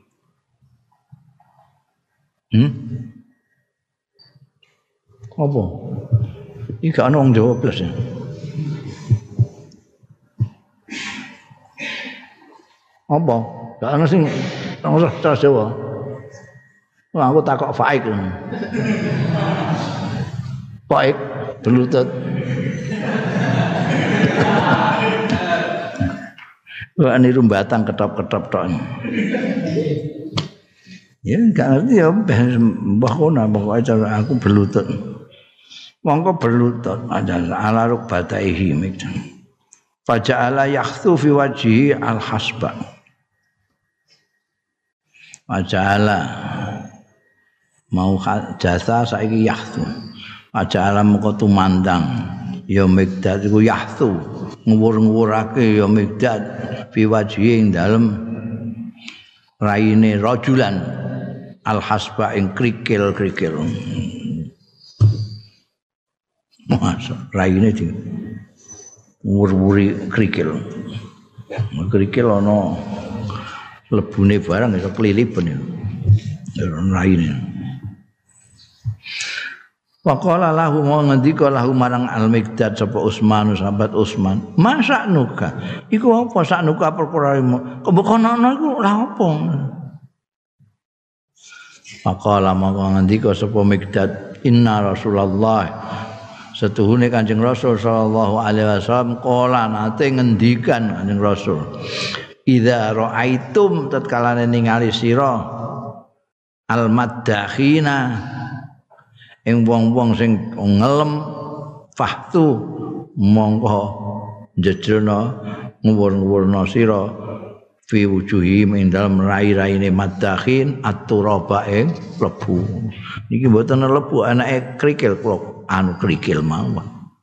apa iki gak ana wong Jawa plus ya apa gak ana sing ora cara Jawa wah aku takok faik berlutut wah niru batang ketop-ketop tok ya gak ngerti ya mbah kono pokoke cara aku berlutut mongko berlutut ala rukbataihi mikdan faja'ala yakhsu fi wajhi al-hasba faja'ala mau jasa saiki yakhsu faja'ala mongko tumandang ya Mikdad iku yahtu nguwur-nguwurake ya Mikdad fi wajhi ing dalem raine rajulan al-hasba ing krikil-krikil. Masa raine di nguwur-nguwuri krikil. Krikil ana lebune barang iso klilipen ya. Raine. Waqala lahu mau ngendika lahu marang Al-Mikdad sapa Utsman sahabat Utsman, "Masa nuka? Iku apa sak nuka perkara-mu? Kebokono iku lha apa?" Waqala mau ngendika sapa Mikdad, "Inna Rasulullah setuhune Kanjeng Rasul sallallahu alaihi wasallam qala nate ngendikan Kanjeng Rasul, "Idza ra'aitum tatkala ningali sira al-maddakhina ing wong-wong sing ngelem fahtu mongko njejrona nguwur-nguwurna sira fi wujuhim ing dalem rai-raine maddakhin at-turaba ing lebu niki mboten lebu anake krikil kula anu krikil mawon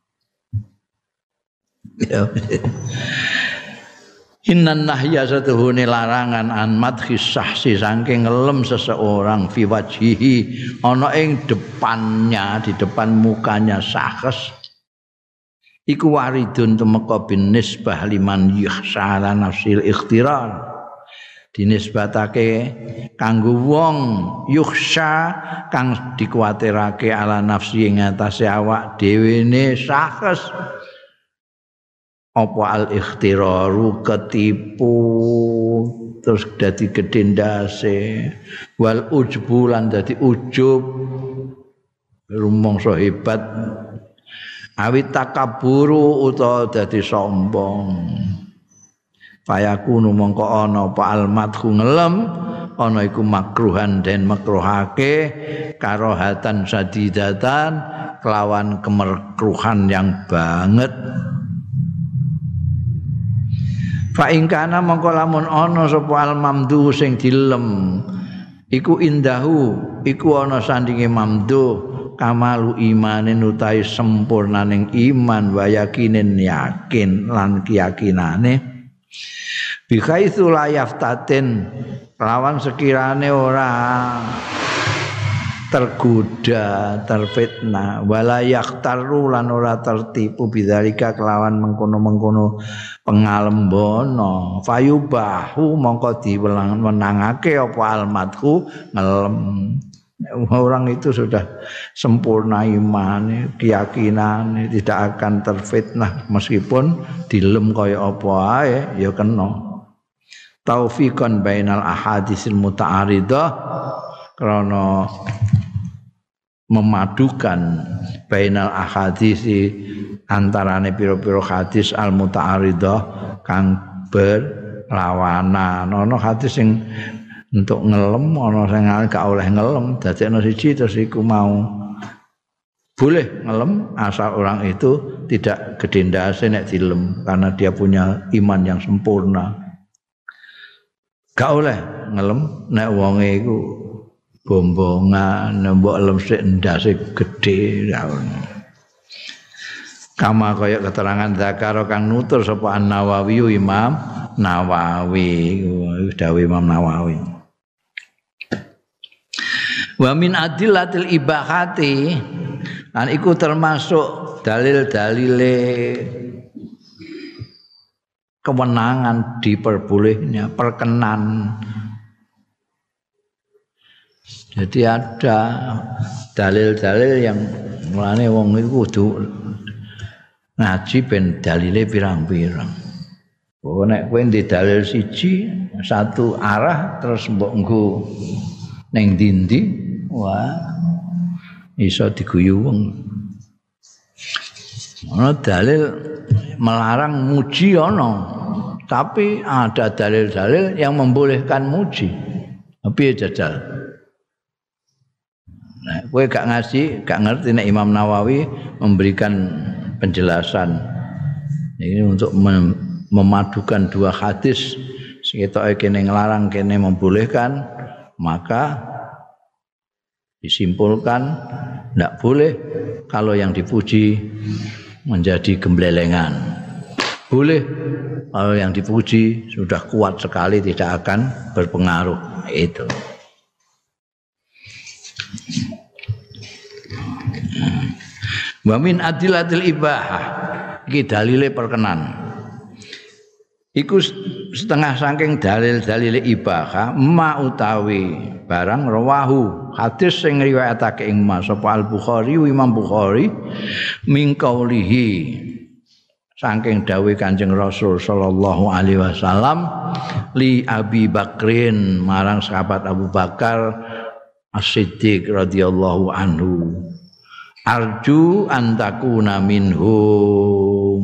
ya Innan nahya satuhune larangan an madhis sahsi saking ngelem seseorang fi wajhihi ana ing depannya di depan mukanya sahs iku waridun tumeka bin nisbah liman yakhsha nafsil ikhtirar dinisbatake kanggo wong yukhsha kang dikuwatirake ala nafsi ing atase awak dhewe ne sahs apa al-ikhtiraru ketipu terus dadi gedhe ndase wal ujbu lan dadi ujub rumangsa hebat awit takaburu utawa dadi sombong fayakunu mongko ana apa al-madhu ngelem ana iku makruhan den makruhake karohatan sadidatan kelawan kemerkruhan yang banget fa ing kana mongko lamun ana sapa al mamdu sing dilem iku indahu iku ana sandinge mamdu kamalu imanin utahe sempurnaning iman wa yakinin yakin lan keyakinane bi khaitsu la yaftatin lawan sekirane ora tergoda, terfitnah, wala yaktaru lan ora tertipu bidzalika kelawan mengkono-mengkono pengalembono. Fayubahu mongko diwenangake apa almadhu ngelem. Orang itu sudah sempurna iman, keyakinan tidak akan terfitnah meskipun dilem kaya apa ae ya kena. Taufiqan bainal ahadisil muta'aridah karena memadukan bainal ahadisi antarane pira-pira hadis al muta'aridah kang berlawanan. Ana hadis sing untuk ngelem, ana sing gak oleh ngelem, dadekno siji terus iku mau boleh ngelem asal orang itu tidak gedhe ndase nek dilem karena dia punya iman yang sempurna. Gak oleh ngelem nek wonge iku bombongan mbok lem sik ndase gedhe kama kaya keterangan zakaro kang nutur sapa An-Nawawi Imam Nawawi dawuh Imam Nawawi wa min adillatil ibahati lan iku termasuk dalil-dalile kewenangan diperbolehnya perkenan. Jadi ada dalil-dalil yang mulane wong iku kudu ngaji ben dalile pirang-pirang. Oh nek kowe ndek dalil siji satu arah terus mbok nggo ning ndi wah iso diguyu wong. Ana dalil melarang muji ana, tapi ada dalil-dalil yang membolehkan muji. Piye jajal? Nah, kowe gak ngaji, gak ngerti nek Imam Nawawi memberikan penjelasan. Ini untuk memadukan dua hadis, seketoke kene nglarang kene membolehkan, maka disimpulkan tidak boleh kalau yang dipuji menjadi gemblelengan. Boleh kalau yang dipuji sudah kuat sekali tidak akan berpengaruh. Itu. Wa min adillatil ibahah iki dalile perkenan. Iku setengah saking dalil-dalile ibahah ma utawi barang rawahu hadis sing riwayatake ing sapa Al-Bukhari Imam Bukhari min qaulihi saking dawuh Kanjeng Rasul sallallahu alaihi wasallam li Abi Bakrin marang sahabat Abu Bakar As-Siddiq radhiyallahu anhu arju antakuna minhum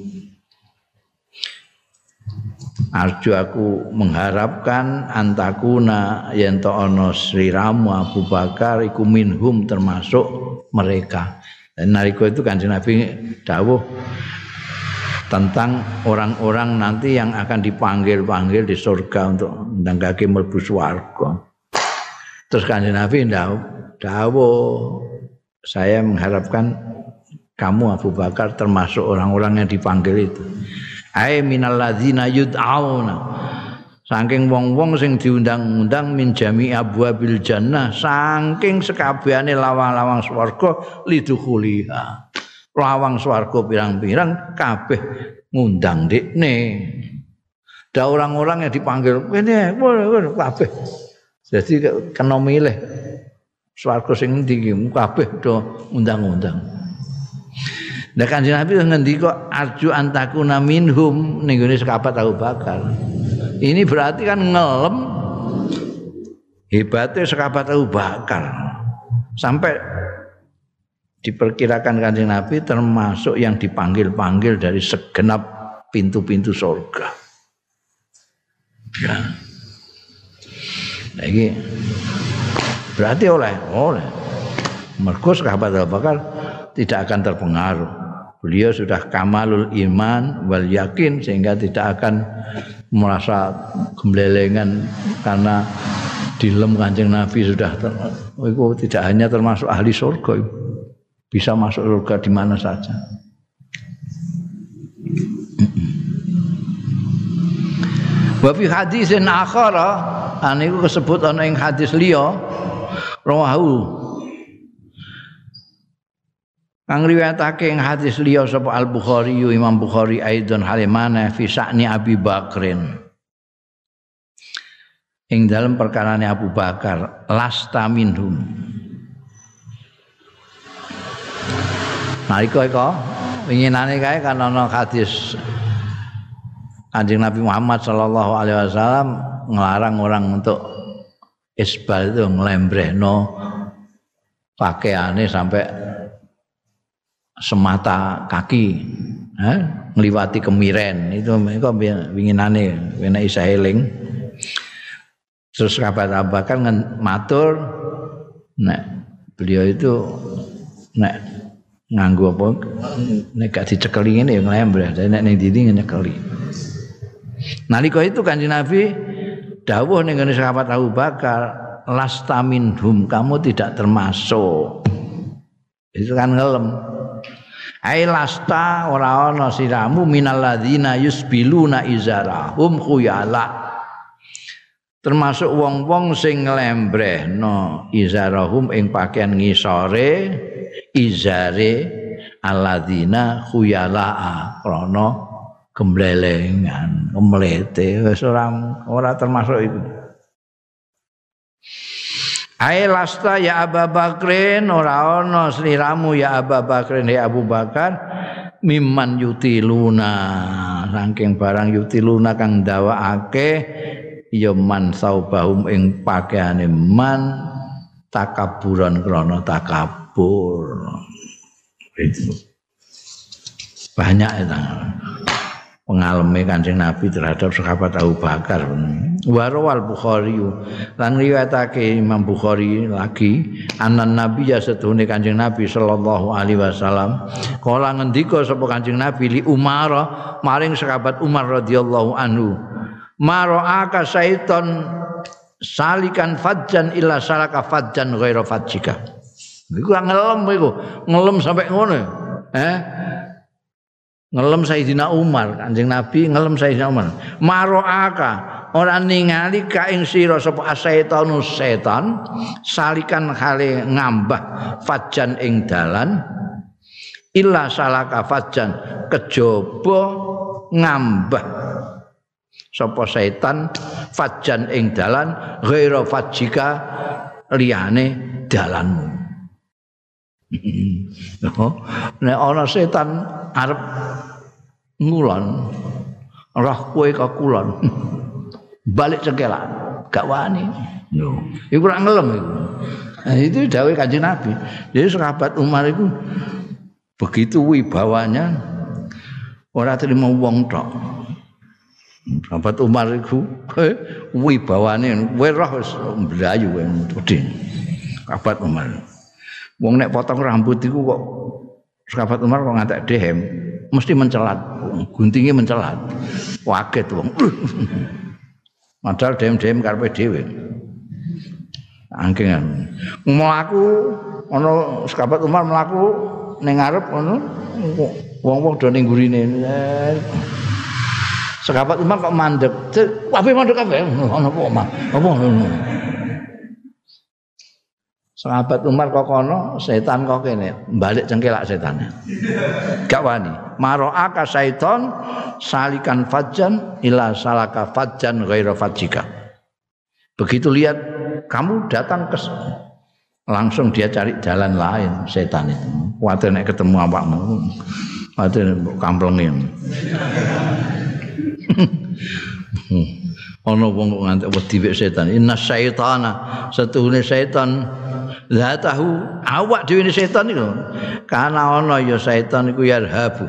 arju aku mengharapkan antakuna yen to ana sliramu Abu Bakar iku minhum termasuk mereka. Dan nalika itu Kanjeng Nabi dawuh tentang orang-orang nanti yang akan dipanggil-panggil di surga untuk ndangake mlebu swarga. Terus Kanjeng Nabi dawuh saya mengharapkan kamu Abu Bakar termasuk orang-orang yang dipanggil itu. Ai minal ladzina yud'auna saking wong-wong sing diundang-undang min jami' abwabil jannah saking sekabehane lawang-lawang swarga lidukhuliha lawang swarga pirang-pirang kabeh ngundang dekne. Ada orang-orang yang dipanggil kene kabeh. Jadi kena milih swarga sing endi iki kabeh do undang-undang. Nah Kanjeng Nabi ngendika arju antakuna minhum ning gone sahabat Abu Bakar. Ini berarti kan ngelem hebatnya sahabat Abu Bakar. Sampai diperkirakan Kanjeng Nabi termasuk yang dipanggil-panggil dari segenap pintu-pintu surga. Ya. Nah, ini berarti oleh mergo sahabat Abu Bakar tidak akan terpengaruh. Beliau sudah kamalul iman wal yakin sehingga tidak akan merasa gemblelengan karena dilem Kanjeng Nabi sudah itu tidak hanya termasuk ahli surga, bisa masuk surga di mana saja. Wa fi hadisin akhara aniku disebut ana ing hadis liya rawahu kang riwayatake ing hadis liya sapa Al-Bukhari Imam Bukhari aidon halimana fi sa'ni Abi Bakrin ing dalam perkarane Abu Bakar lasta minhum nalika iku winginane kae kan ana hadis Kanjeng Nabi Muhammad sallallahu alaihi wasallam ngelarang orang untuk isbal itu nglembrehno pakaiane sampai semata kaki, ngliwati kemiren itu mereka winginane enak isa eling. Terus sahabat Abu Bakar matur nek beliau itu nek nganggo apa nek gak dicekeli ngene ya nglembreh, nek ning ndi nyekeli. Nalika itu Kanjeng Nabi dawuh ning ngene sahabat Abu Bakar, lasta minhum, kamu tidak termasuk. Itu kan ngelem. Ai lasta ora ana siramu minal ladzina yusbiluna izarahum khuyala. Termasuk wong-wong sing nglembrehno izarahum ing pakaian ngisore izare alladzina khuyala krana gemblelengan, kemlete wis ora termasuk itu. Ai lasta ya Abu Bakrin ora ana sliramu ya Abu Bakrin ya Abu Bakar mimman yutiluna saking barang yutiluna kang ndawakake ya man saubahum ing pakaiane man takaburan krana takabur. Itu banyak itu. pengaleme Kanjeng Nabi terhadap sahabat Abu Bakar. Warawal Bukhari lan riwayatake Imam Bukhari lagi anan Nabi ya sedune Kanjeng Nabi sallallahu alaihi wasallam kala ngendika sapa Kanjeng Nabi li Umar maring sahabat Umar radhiyallahu anhu mara'aka syaiton salikan fajjan illa salaka fajjan ghaira fajjika. Iku ngelem sampai ngono. Ngelem Sayyidina Umar, Kanjeng Nabi ngelem Sayyidina Umar. Maro'aka ora ningali ka ing sira sapa asaitanu setan salikan hale ngambah fajan ing dalan illa salaka fajan kejaba ngambah sapa setan fajan ing dalan ghaira fajika liyane dalanmu. Nek ana setan arep ngulon roh kowe kok kulon balik cengkelak gak wani yo iku ora ngelem iku. Nah, itu dawuh Kanjeng Nabi. Jadi sahabat Umar itu begitu wibawanya ora terima wong tok. Sahabat Umar itu wibawane kowe roh wis mlayu wedi. Sahabat Umar wong nek potong rambut iku kok sahabat Umar kok ngantek dehem mesti mencelat, guntinge mencelat. Waget wong. Padahal dehem-dehem karepe dhewe. Angking mlaku ana sahabat Umar mlaku ning ngarep ngono wong-wong do ning gurine. Sahabat Umar kok mandek. Kabeh mandek kabeh. Ana apa, Mas? Apa ngono? Sahabat Umar kok kono, setan kok kene, balik cengkelak setannya. Gak wani. Maro'aka syaiton salikan fajjan ila salaka fajjan ghaira fajjika. Begitu lihat kamu datang ke langsung dia cari jalan lain setan itu. Kuwatir nek ketemu awakmu. Kuwatir kamplenge. Ana wong kok ngantek wedi wek setan. Inna syaitana satuhune setan la tahu awak dhewe setan iku. Kana ana ya setan iku yarhabu.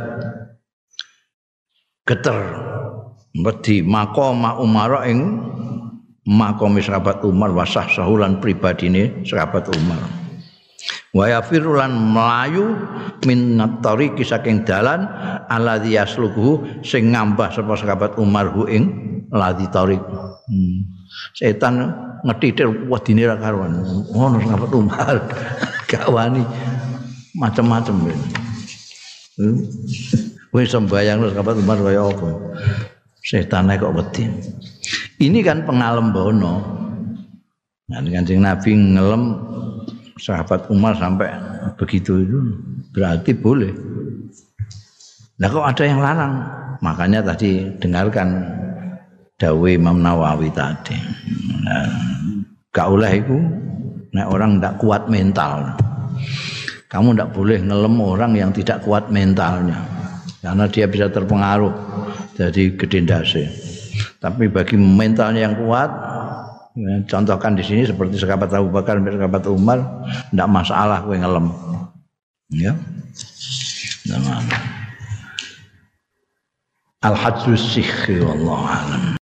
Geter wedi maqama Umar ing maqam sahabat Umar wasah sahulan pribadine sahabat Umar. Wa yafirulan melayu min tariqi saking dalan alladzi yasluku sing ngambah sapa sahabat Umar hu ing ladzi tariq. Setan ngetitir wedine ra karuan. Ngono sahabat Umar gak wani macam-macam. Wis sembayang sahabat Umar kaya apa. Setane kok wedi. Ini kan pengalembono. Nah, Kanjeng Nabi ngelem sahabat Umar sampai begitu itu berarti boleh. Nah kok ada yang larang? Makanya tadi dengarkan dawuh Imam Nawawi tadi. Nah, gak oleh itu nek orang ndak kuat mental. Kamu ndak boleh ngelem orang yang tidak kuat mentalnya. Karena dia bisa terpengaruh dari gede ndase. Tapi bagi mentalnya yang kuat, ya, contohkan di sini seperti sahabat Abu Bakar dan sahabat Umar, tidak masalah kowe ngelem. Ya. Al-hajjus sikhi wallahu a'lam.